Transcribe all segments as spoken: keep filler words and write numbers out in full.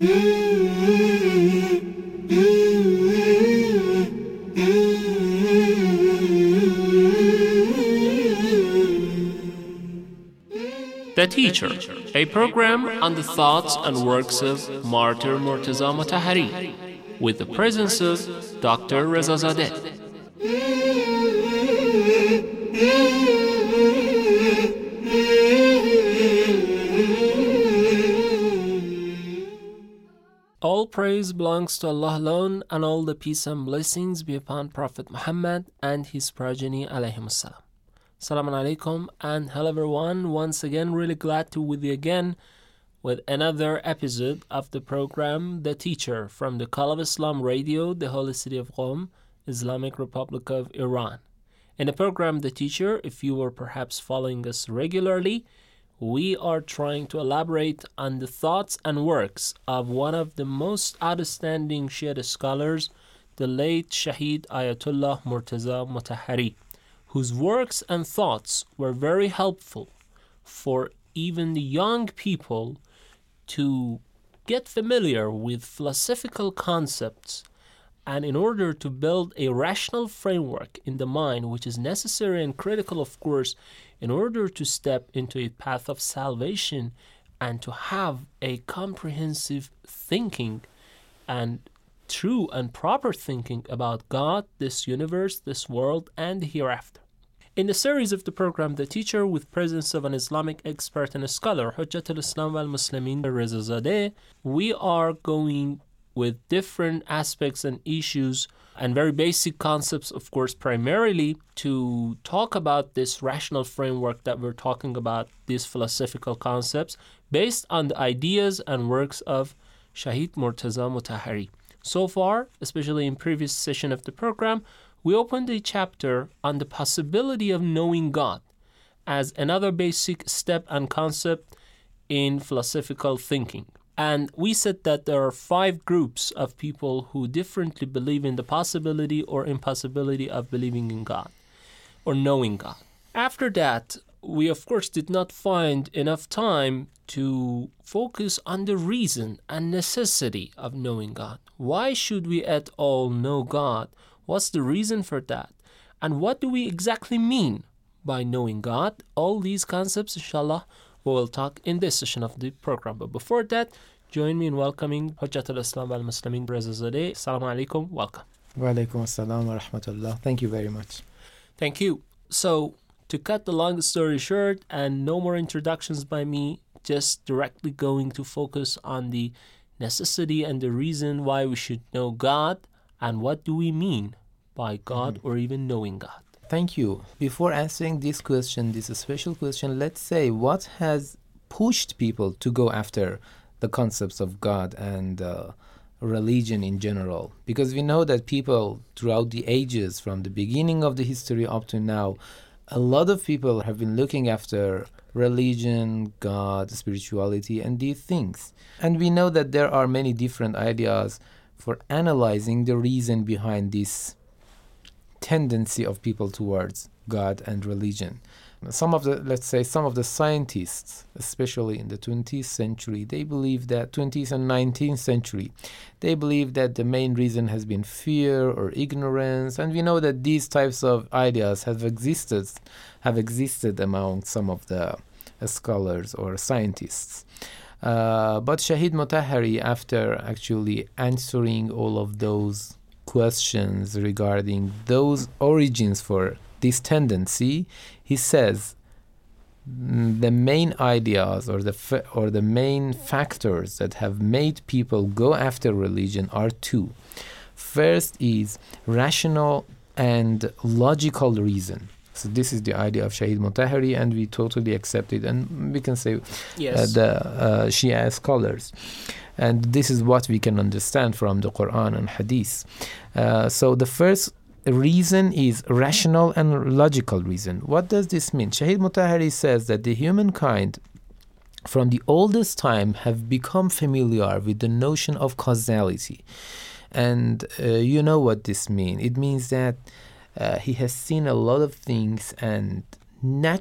The Teacher, a program on the thoughts and works of Martyr Murtaza Motahhari, with the presence of Doctor Reza Zadeh. All praise belongs to Allah alone, and all the peace and blessings be upon Prophet Muhammad and his progeny alayhim assalam. Assalamu alaikum and hello everyone. Once again, really glad to be with you again with another episode of the program The Teacher from the Call of Islam Radio, the Holy City of Qom, Islamic Republic of Iran. In the program The Teacher, if you were perhaps following us regularly, we are trying to elaborate on the thoughts and works of one of the most outstanding Shia scholars, the late Shaheed Ayatollah Murtaza Motahhari, whose works and thoughts were very helpful for even the young people to get familiar with philosophical concepts, and in order to build a rational framework in the mind, which is necessary and critical, of course, in order to step into a path of salvation and to have a comprehensive thinking and true and proper thinking about God, this universe, this world, and the hereafter. In the series of the program The Teacher, with presence of an Islamic expert and a scholar, Hujjat al-Islam wal-Muslimin Reza Zadeh, we are going with different aspects and issues and very basic concepts, of course, primarily to talk about this rational framework that we're talking about, these philosophical concepts, based on the ideas and works of Shaheed Murtaza Motahhari. So far, especially in previous session of the program, we opened a chapter on the possibility of knowing God as another basic step and concept in philosophical thinking. And we said that there are five groups of people who differently believe in the possibility or impossibility of believing in God or knowing God. After that, we of course did not find enough time to focus on the reason and necessity of knowing God. Why should we at all know God? What's the reason for that? And what do we exactly mean by knowing God? All these concepts, inshallah, we will talk in this session of the program. But before that, join me in welcoming Hujjat al-Islam wal-Muslimin Reza Zadeh. Assalamu alaikum. Welcome. Wa alaikum assalam wa rahmatullah. Thank you very much. Thank you. So, to cut the long story short, and no more introductions by me, just directly going to focus on the necessity and the reason why we should know God, and what do we mean by God mm-hmm. or even knowing God. Thank you. Before answering this question, this special question, let's say what has pushed people to go after the concepts of God and uh, religion in general? Because we know that people throughout the ages, from the beginning of the history up to now, a lot of people have been looking after religion, God, spirituality, and these things. And we know that there are many different ideas for analyzing the reason behind this tendency of people towards God and religion. Some of the, let's say, some of the scientists, especially in the twentieth century, they believe that, twentieth and nineteenth century, they believe that the main reason has been fear or ignorance. And we know that these types of ideas have existed, have existed among some of the uh, scholars or scientists. Uh, but Shaheed Motahhari, after actually answering all of those questions regarding those origins for this tendency, he says the main ideas or the fa- or the main factors that have made people go after religion are two. First is rational and logical reason. So this is the idea of Shaheed Motahhari, and we totally accept it, and we can say yes. uh, the uh, Shia scholars. And this is what we can understand from the Quran and Hadith. Uh, so the first reason is rational and logical reason. What does this mean? Shaheed Motahhari says that the humankind from the oldest time have become familiar with the notion of causality. And uh, you know what this means. It means that uh, he has seen a lot of things, and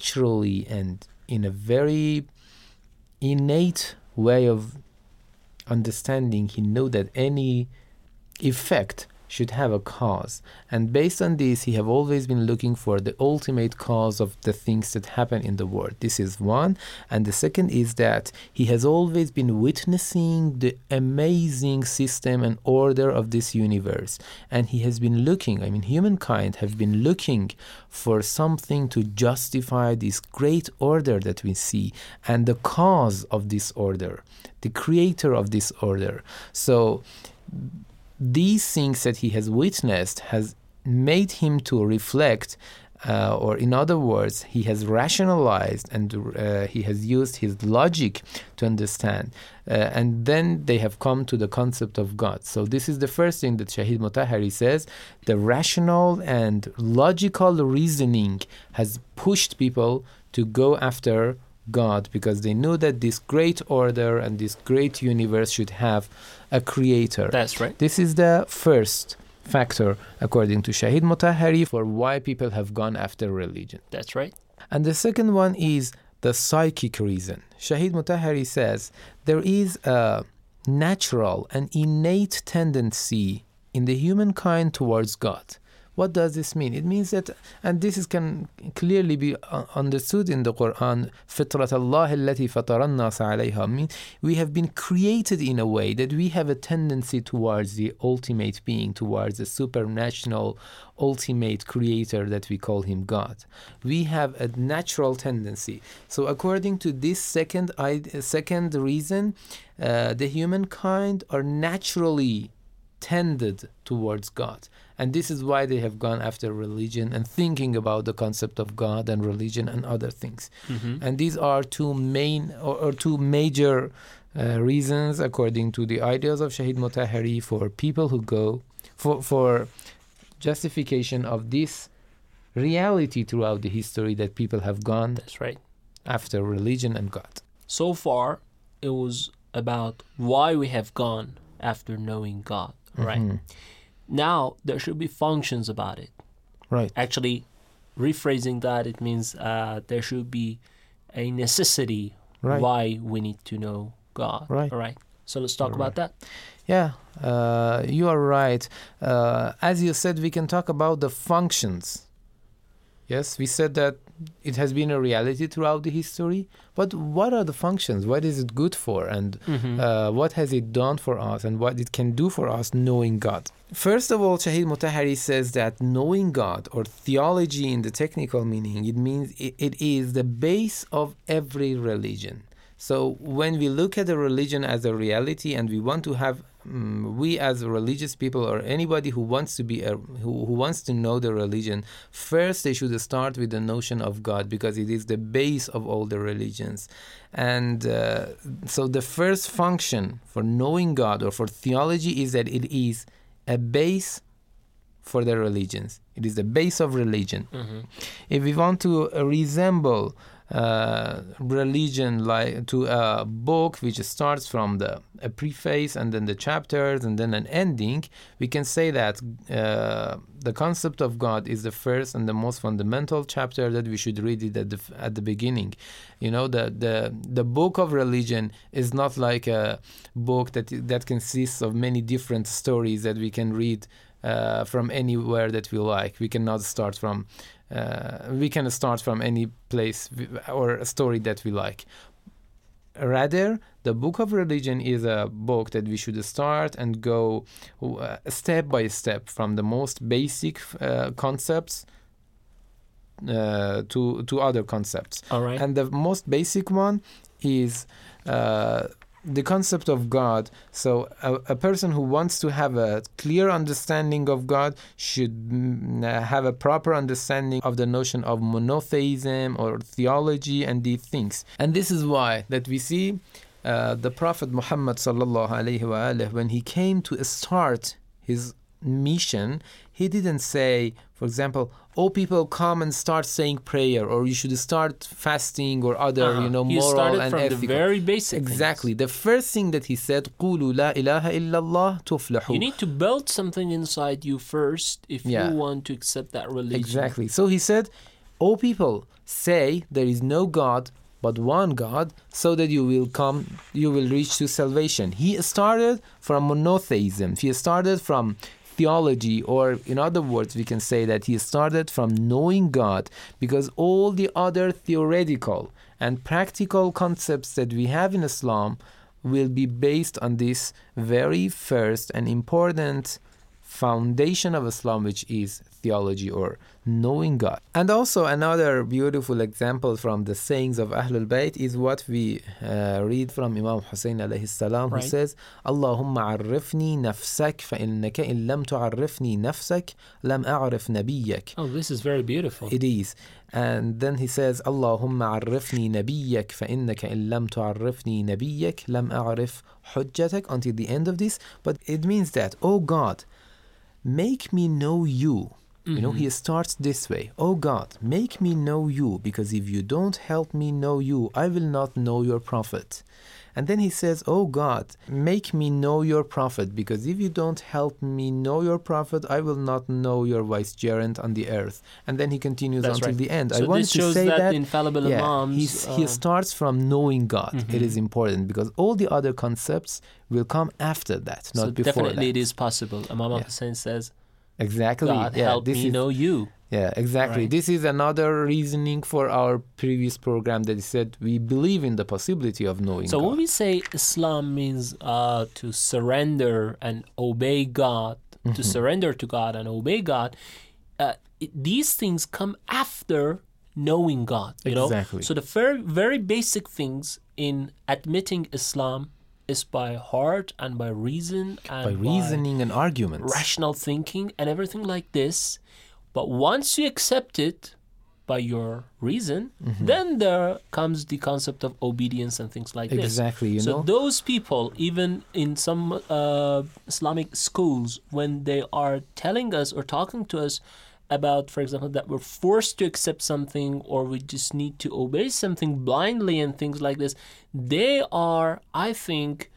naturally and in a very innate way of understanding, he knew that any effect should have a cause, and based on this he have always been looking for the ultimate cause of the things that happen in the world. This is one. And the second is that he has always been witnessing the amazing system and order of this universe, and he has been looking, I mean humankind have been looking for something to justify this great order that we see, and the cause of this order, the creator of this order. So these things that he has witnessed has made him to reflect, uh, or in other words, he has rationalized and uh, he has used his logic to understand. Uh, and then they have come to the concept of God. So this is the first thing that Shahid Mutahhari says. The rational and logical reasoning has pushed people to go after God, because they knew that this great order and this great universe should have a creator. That's right. This is the first factor, according to Shahid Mutahhari, for why people have gone after religion. That's right. And the second one is the psychic reason. Shahid Mutahhari says there is a natural and innate tendency in the humankind towards God. What does this mean? It means that, and this is, can clearly be uh, understood in the Quran, فِطْرَةَ اللَّهِ الَّتِي فَطَرَ النَّاسَ عَلَيْهَا. Mean we have been created in a way that we have a tendency towards the ultimate being, towards the supernatural ultimate creator that we call him God. We have a natural tendency. So according to this second, second reason, uh, the humankind are naturally tended towards God. And this is why they have gone after religion and thinking about the concept of God and religion and other things. Mm-hmm. And these are two main or, or two major uh, reasons, according to the ideas of Shahid Mutahhari, for people who go for for justification of this reality throughout the history that people have gone. That's right. After religion and God. So far, it was about why we have gone after knowing God, right? Mm-hmm. Now, there should be functions about it. Right. Actually, rephrasing that, it means uh, there should be a necessity right. why we need to know God. Right. All right. So let's talk All about right. that. Yeah, uh, you are right. Uh, as you said, we can talk about the functions. Yes, we said that it has been a reality throughout the history, but what are the functions? What is it good for? And mm-hmm. uh, what has it done for us, and what it can do for us knowing God? First of all, Shahid Mutahhari says that knowing God, or theology in the technical meaning, it means it, it is the base of every religion. So when we look at a religion as a reality, and we want to have, um, we as religious people, or anybody who wants to be, a, who, who wants to know the religion, first they should start with the notion of God, because it is the base of all the religions. And uh, so the first function for knowing God, or for theology, is that it is a base for the religions. It is the base of religion. Mm-hmm. If we want to uh, resemble Uh, religion like to a book which starts from the a preface and then the chapters and then an ending, we can say that uh, the concept of God is the first and the most fundamental chapter that we should read it at the at the beginning. You know, the the the book of religion is not like a book that that consists of many different stories that we can read uh, from anywhere that we like. We cannot start from Uh, we can start from any place or a story that we like. Rather, the book of religion is a book that we should start and go uh, step by step from the most basic uh, concepts uh, to to other concepts. All right. And the most basic one is uh, the concept of God. So a, a person who wants to have a clear understanding of God should mm, have a proper understanding of the notion of monotheism or theology and these things. And this is why that we see uh, the Prophet Muhammad sallallahu alaihi wasallam, when he came to start his mission, he didn't say, for example, oh, people come and start saying prayer, or you should start fasting, or other, uh-huh. you know, he moral started and from ethical. The very basic exactly. things. The first thing that he said, قُولُوا لَا إِلَهَ إِلَّا اللَّهُ تُفْلِحُوا. You need to build something inside you first if yeah. you want to accept that religion. Exactly. So he said, oh, people, say there is no God but one God, so that you will come, you will reach to salvation. He started from monotheism. He started from theology, or in other words, we can say that he started from knowing God, because all the other theoretical and practical concepts that we have in Islam will be based on this very first and important foundation of Islam, which is theology or knowing God. And also another beautiful example from the sayings of Ahlul Bayt is what we uh, read from Imam Hussein alayhi salam, who Right. says, Allahumma arifni nafsak fa innaka in lam tu'arrifni nafsak lam a'rif nabiyyak. Oh, this is very beautiful. It is. And then he says, Allahumma arifni nabiyyak fa innaka in lam tu'arrifni nabiyyak lam a'rif hujjatak, until the end of this. But it means that, oh God, make me know you. You know, he starts this way. Oh God, make me know you, because if you don't help me know you, I will not know your prophet. And then he says, oh God, make me know your prophet, because if you don't help me know your prophet, I will not know your vicegerent on the earth. And then he continues That's until right. the end. So I wanted this to shows say that, that, the infallible yeah, imams, he's, uh, he starts from knowing God. It is important, because all the other concepts will come after that, not so before definitely that. it is possible. Imam Yeah. Hussein says, Exactly. God yeah, help this me is, know you. Yeah, exactly. Right. This is another reasoning for our previous program that said we believe in the possibility of knowing So God. when we say Islam means uh, to surrender and obey God, to surrender to God and obey God, uh, it, these things come after knowing God. You Exactly. know? So the very, very basic things in admitting Islam is by heart and by reason and by reasoning and arguments. rational thinking and everything like this. But once you accept it by your reason, then there comes the concept of obedience and things like this. Exactly, you so know. those people, even in some uh, Islamic schools, when they are telling us or talking to us about, for example, that we're forced to accept something or we just need to obey something blindly and things like this, they are, I think,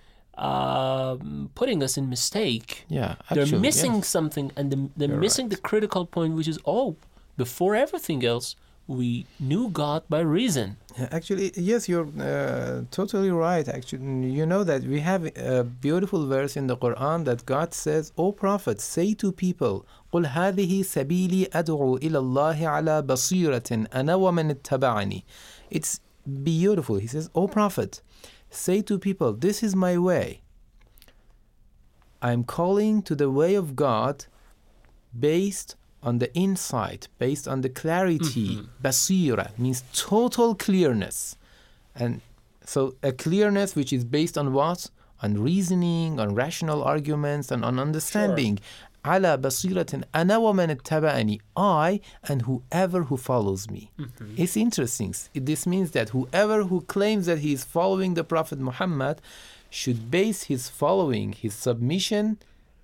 um, putting us in mistake. Yeah, They're actually, missing yes. something, and the, they're You're missing right. the critical point, which is, oh, before everything else, we knew God by reason. Yeah, actually, yes, you're uh, totally right. Actually, you know that we have a beautiful verse in the Quran that God says, "O Prophet, say to people, قل هذه سبيلي أدعو إلى الله على بصيرة أنا ومن اتبعني." It's beautiful. He says, "O Prophet, say to people, this is my way. I'm calling to the way of God based on the insight, based on the clarity." Basira means total clearness. And so a clearness which is based on what? On reasoning, on rational arguments, and on understanding. على بصيرة أنا ومن اتبعني, I and whoever who follows me. It's interesting. This means that whoever who claims that he is following the Prophet Muhammad should base his following, his submission,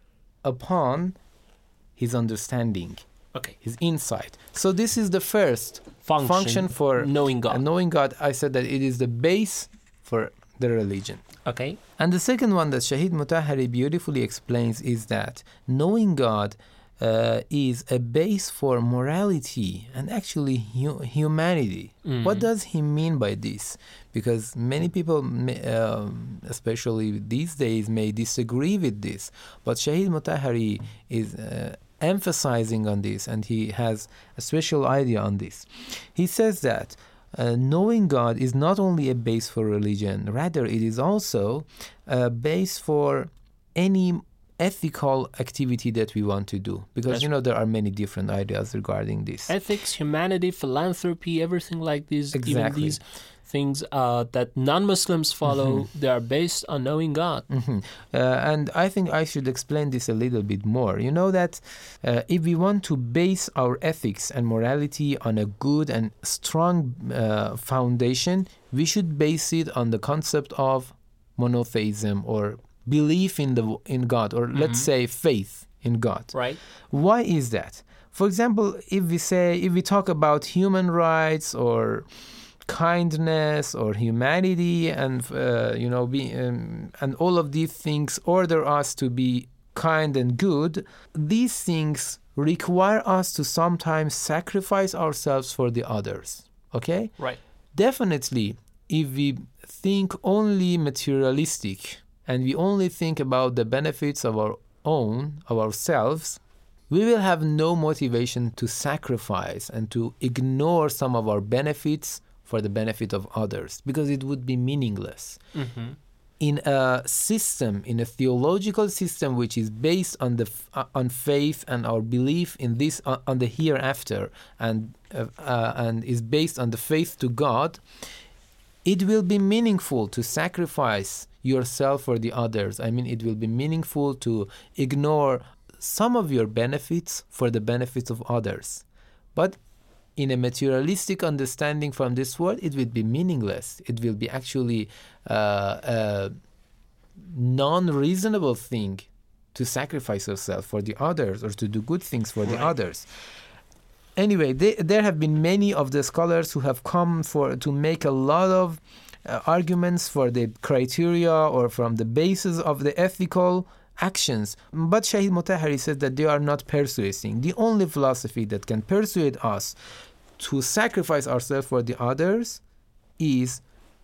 upon his understanding, Okay. his insight. So this is the first Function, function for knowing God. And knowing God, I said that it is the base for the religion. Okay. And the second one that Shahid Mutahari beautifully explains is that knowing God uh, is a base for morality and actually hu- humanity. What does he mean by this? Because many people, may, um, especially these days, may disagree with this. But Shahid Mutahari is uh, emphasizing on this, and he has a special idea on this. He says that Uh, knowing God is not only a base for religion, rather it is also a base for any ethical activity that we want to do. Because, That's you know, there are many different ideas regarding this. Ethics, humanity, philanthropy, everything like these, even Exactly. these things uh, that non-Muslims follow, they are based on knowing God. Mhm. Uh, and I think I should explain this a little bit more. You know that uh, if we want to base our ethics and morality on a good and strong uh, foundation, we should base it on the concept of monotheism, or belief in the in God, or let's say faith in God. Right? Why is that? For example, if we say if we talk about human rights or kindness or humanity, and uh, you know, be, um, and all of these things order us to be kind and good, these things require us to sometimes sacrifice ourselves for the others. Okay? Right. Definitely, if we think only materialistic and we only think about the benefits of our own, of ourselves, we will have no motivation to sacrifice and to ignore some of our benefits for the benefit of others, because it would be meaningless. Mm-hmm. In a system, in a theological system which is based on the uh, on faith and our belief in this, uh, on the hereafter, and uh, uh, and is based on the faith to God, it will be meaningful to sacrifice yourself for the others. I mean, it will be meaningful to ignore some of your benefits for the benefits of others. But in a materialistic understanding from this world, it will be meaningless. It will be actually uh, a non-reasonable thing to sacrifice yourself for the others or to do good things for right. the others. Anyway, they, there have been many of the scholars who have come for to make a lot of uh, arguments for the criteria or from the basis of the ethical actions. But Shahid Motahhari says that they are not persuading. The only philosophy that can persuade us to sacrifice ourselves for the others is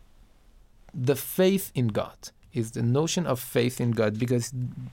the faith in God, is the notion of faith in God, because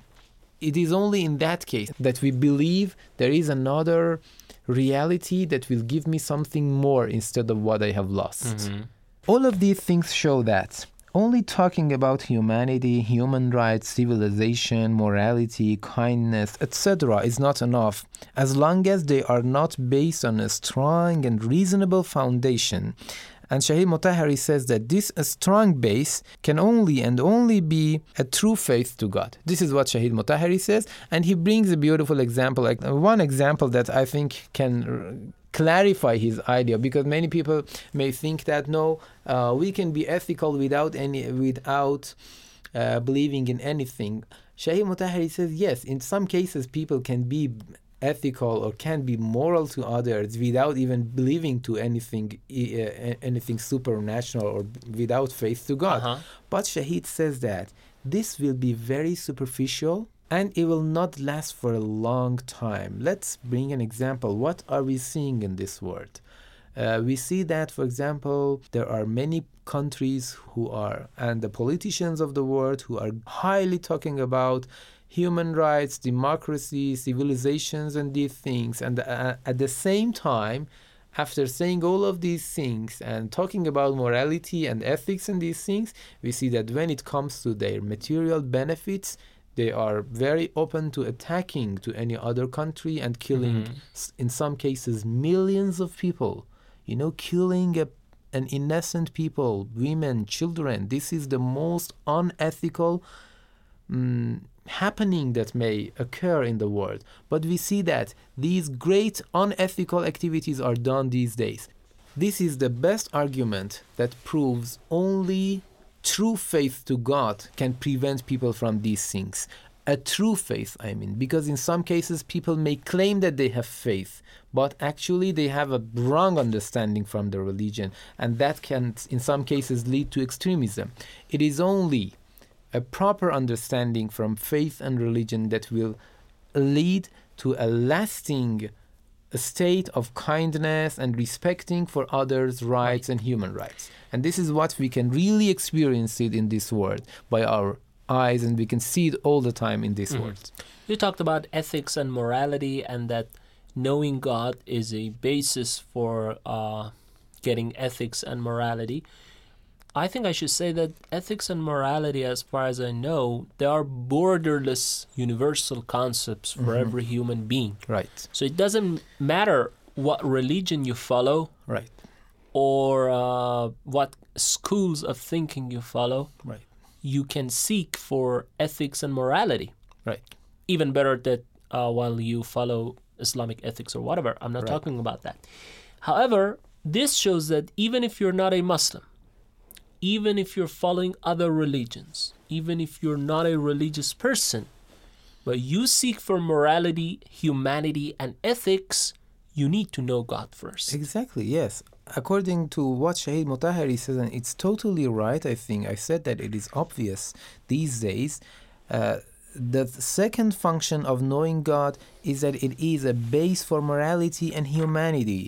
it is only in that case that we believe there is another reality that will give me something more instead of what I have lost. Mm-hmm. All of these things show that only talking about humanity, human rights, civilization, morality, kindness, et cetera is not enough, as long as they are not based on a strong and reasonable foundation. And Shahid Motahhari says that this strong base can only and only be a true faith to God. This is what Shahid Motahhari says, and he brings a beautiful example, like one example that I think can clarify his idea, because many people may think that no, uh, we can be ethical without any, without uh, believing in anything. Shahid Motahhari says yes, in some cases people can be ethical or can be moral to others without even believing to anything, uh, anything supernatural or without faith to God. Uh-huh. But Shahid says that this will be very superficial and it will not last for a long time. Let's bring an example. What are we seeing in this world? Uh, we see that, for example, there are many countries who are, and the politicians of the world who are highly talking about human rights, democracy, civilizations, and these things. And uh, at the same time, after saying all of these things and talking about morality and ethics and these things, we see that when it comes to their material benefits, they are very open to attacking to any other country and killing, mm-hmm. in some cases, millions of people. You know, killing a, an innocent people, women, children. This is the most unethical um, happening that may occur in the world. But we see that these great unethical activities are done these days. This is the best argument that proves only true faith to God can prevent people from these things. A true faith, I mean, because in some cases people may claim that they have faith, but actually they have a wrong understanding from the religion, and that can in some cases lead to extremism. It is only a proper understanding from faith and religion that will lead to a lasting state of kindness and respecting for others' rights and human rights. And this is what we can really experience it in this world by our eyes, and we can see it all the time in this mm-hmm. world. You talked about ethics and morality, and that knowing God is a basis for uh, getting ethics and morality. I think I should say that ethics and morality, as far as I know, they are borderless universal concepts for mm-hmm. every human being. Right. So it doesn't matter what religion you follow. Right. Or uh, what schools of thinking you follow. Right. You can seek for ethics and morality. Right. Even better that uh, while you follow Islamic ethics or whatever. I'm not right. talking about that. However, this shows that even if you're not a Muslim, even if you're following other religions, even if you're not a religious person, but you seek for morality, humanity, and ethics, you need to know God first. Exactly, yes. According to what Shahid Motahhari says, and it's totally right, I think, I said that it is obvious these days, uh, the second function of knowing God is that it is a base for morality and humanity.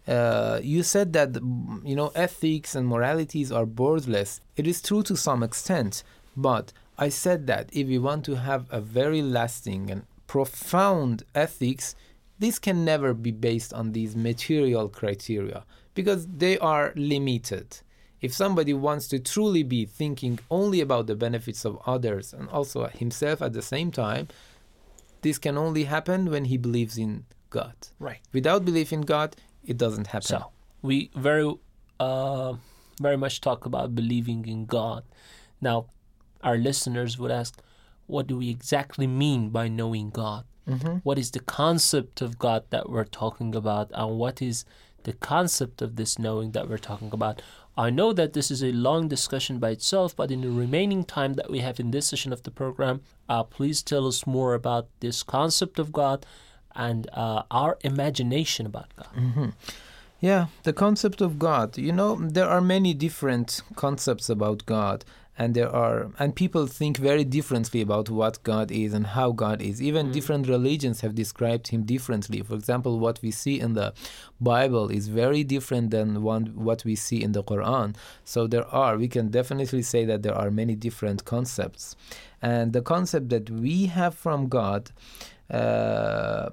uh, you said that, you know, ethics and moralities are borderless. It is true to some extent, but I said that if we want to have a very lasting and profound ethics, this can never be based on these material criteria because they are limited. If somebody wants to truly be thinking only about the benefits of others and also himself at the same time, this can only happen when he believes in God. Right. Without belief in God, it doesn't happen. So we very, uh, very much talk about believing in God. Now, our listeners would ask, what do we exactly mean by knowing God? Mm-hmm. What is the concept of God that we're talking about, and what is the concept of this knowing that we're talking about? I know that this is a long discussion by itself, but in the remaining time that we have in this session of the program, uh, please tell us more about this concept of God and uh, our imagination about God. Mm-hmm. Yeah, the concept of God. You know, there are many different concepts about God, and there are and people think very differently about what God is and how God is. Even mm. different religions have described him differently. For example, what we see in the Bible is very different than one, what we see in the Quran. So there are, we can definitely say that there are many different concepts. And the concept that we have from God uh,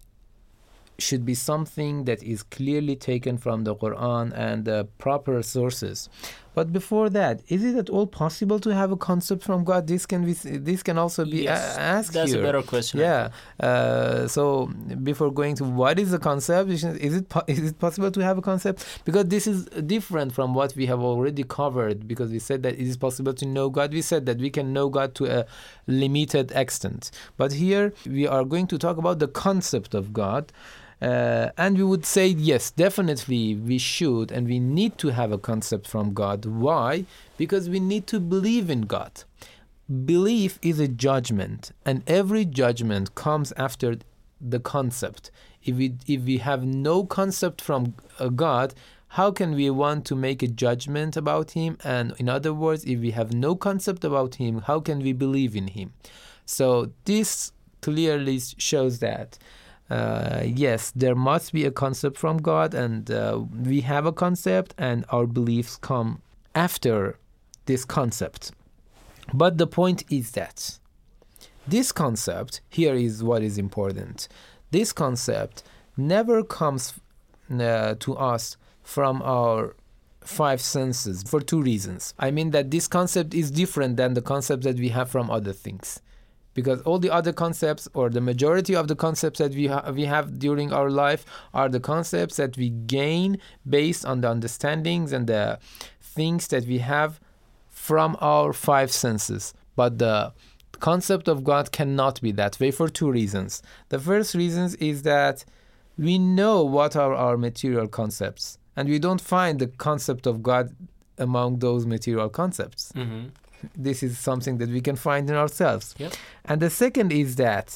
should be something that is clearly taken from the Quran and the proper sources. But before that, is it at all possible to have a concept from God? This can be, this can also be yes, a- asked that's here. a better question. Yeah. Uh, so before going to what is a concept, is it po- is it possible to have a concept? Because this is different from what we have already covered. Because we said that it is possible to know God. We said that we can know God to a limited extent. But here we are going to talk about the concept of God. Uh, and we would say, yes, definitely we should and we need to have a concept from God. Why? Because we need to believe in God. Belief is a judgment, and every judgment comes after the concept. If we, if we have no concept from uh, God, how can we want to make a judgment about him? And in other words, if we have no concept about him, how can we believe in him? So this clearly shows that Uh, yes, there must be a concept from God, and uh, we have a concept, and our beliefs come after this concept. But the point is that this concept, here is what is important. This concept never comes uh, to us from our five senses for two reasons. I mean that this concept is different than the concept that we have from other things. Because all the other concepts, or the majority of the concepts that we, ha- we have during our life, are the concepts that we gain based on the understandings and the things that we have from our five senses. But the concept of God cannot be that way for two reasons. The first reason is that we know what are our material concepts, and we don't find the concept of God among those material concepts. Mm-hmm. This is something that we can find in ourselves. Yep. And the second is that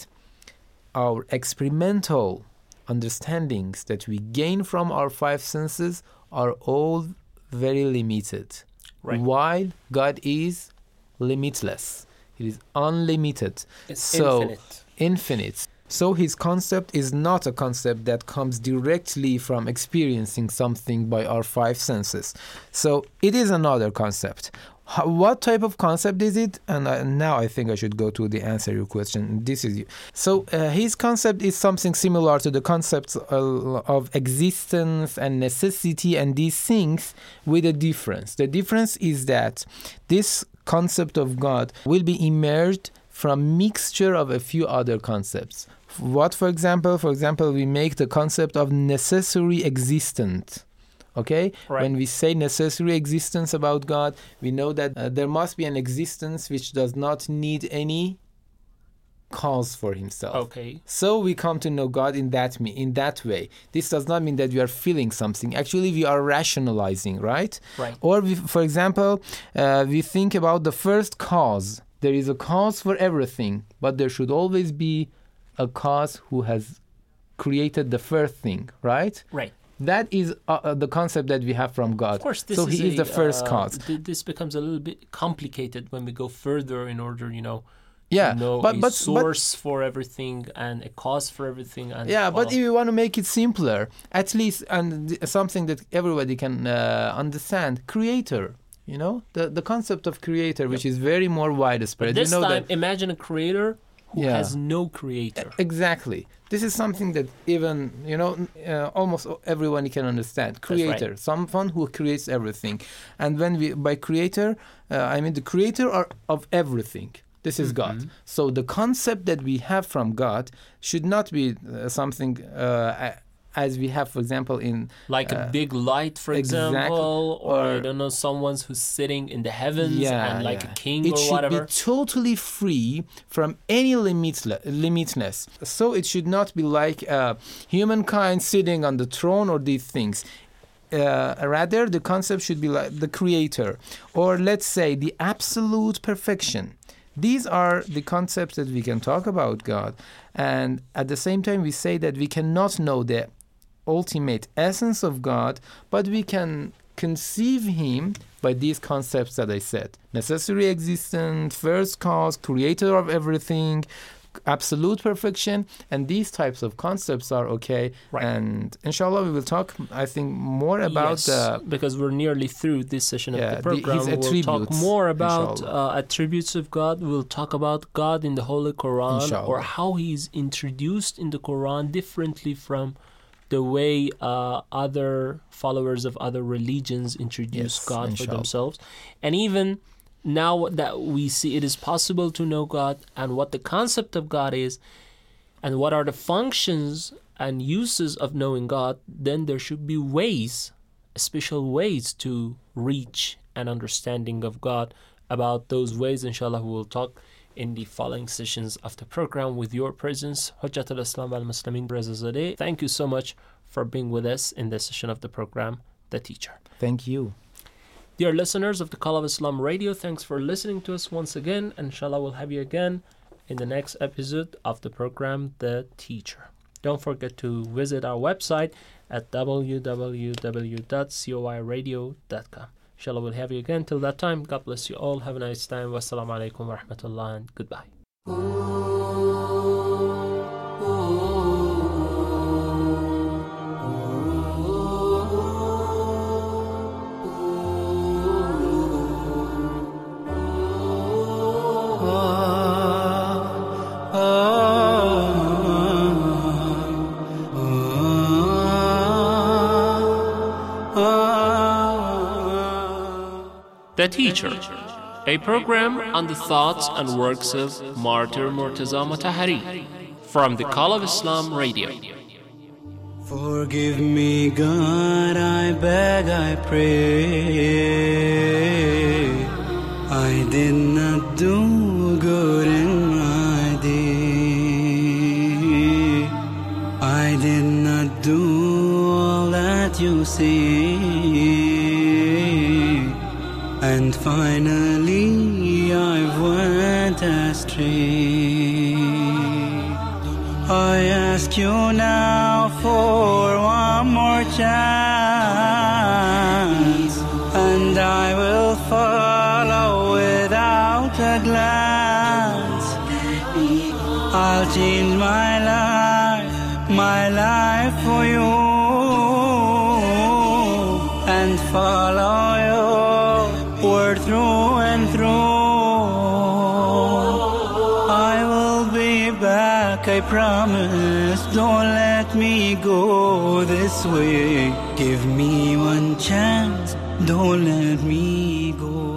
our experimental understandings that we gain from our five senses are all very limited. Right. While God is limitless. It is unlimited. It's so infinite. Infinite. So his concept is not a concept that comes directly from experiencing something by our five senses. So it is another concept. How, what type of concept is it? And uh, now I think I should go to the answer your question. This is you. So uh, his concept is something similar to the concepts uh, of existence and necessity and these things, with a difference. The difference is that this concept of God will be emerged from mixture of a few other concepts. What, for example? For example, we make the concept of necessary existent. Okay? Right. When we say necessary existence about God, we know that uh, there must be an existence which does not need any cause for himself. Okay. So we come to know God in that me in that way. This does not mean that we are feeling something. Actually, we are rationalizing, right? Right. Or, we, for example, uh, we think about the first cause. There is a cause for everything, but there should always be a cause who has created the first thing, right? Right. That is uh, the concept that we have from God. Of course, this so is he is a, the first uh, cause. Th- this becomes a little bit complicated when we go further in order, you know, Yeah, to know but- a but- but- source for everything and a cause for everything. And Yeah, but follow. if you want to make it simpler, at least, and th- something that everybody can uh, understand, creator. You know, the the concept of creator, which is very more widespread. But this you know time, that, imagine a creator who Yeah. has no creator. exactly. This is something that even, you know, uh, almost everyone can understand. right. Creator, someone who creates everything. And when we, by creator, uh, I mean the creator are, of everything. This is God. Mhm. So the concept that we have from God should not be uh, something uh, as we have, for example, in Like uh, a big light, for exactly. example, or, I Or- don't know, someone's who's sitting in the heavens Yeah, and like yeah. a king it or should whatever. be totally free from any limitle- limitness. So it should not be like uh, humankind sitting on the throne or these things. Uh, rather, the concept should be like the creator, or let's say the absolute perfection. These are the concepts that we can talk about God. And at the same time, we say that we cannot know the ultimate essence of God, but we can conceive him by these concepts that I said. Necessary existence, first cause, creator of everything, absolute perfection, and these types of concepts are okay. Right. And inshallah, we will talk, I think, more about yes, the because we're nearly through this session Yeah, of the- the program. his We'll talk attributes, more about inshallah. uh, attributes of God. We'll talk about God in the Holy Quran, Inshallah. or how he's introduced in the Quran differently from the way uh, other followers of other religions introduce Yes, God for inshallah. themselves. And even now that we see it is possible to know God and what the concept of God is and what are the functions and uses of knowing God, then there should be ways, special ways to reach an understanding of God. About those ways, inshallah, we will talk in the following sessions of the program with your presence. Hujjat al-Islam al-Muslimin Brazazadeh. Thank you so much for being with us in this session of the program, The Teacher. Thank you. Dear listeners of the Call of Islam Radio, thanks for listening to us once again. Inshallah, we'll have you again in the next episode of the program, The Teacher. Don't forget to visit our website at w w w dot coi radio dot com. Inshallah, we'll have you again. Till that time, God bless you all. Have a nice time. Wassalamu alaikum wa rahmatullah, and goodbye. The Teacher, a program on the thoughts and works of Martyr Murtaza Mutahari from the Call of Islam Radio. Forgive me, God, I beg, I pray. I did not do good in my day. I did not do all that you say. And finally I went astray. I ask you now for one more chance, and I will follow without a glance. I'll change my life, my life for you, and follow you word through and through. I will be back, I promise. Don't let me go this way. Give me one chance, don't let me go.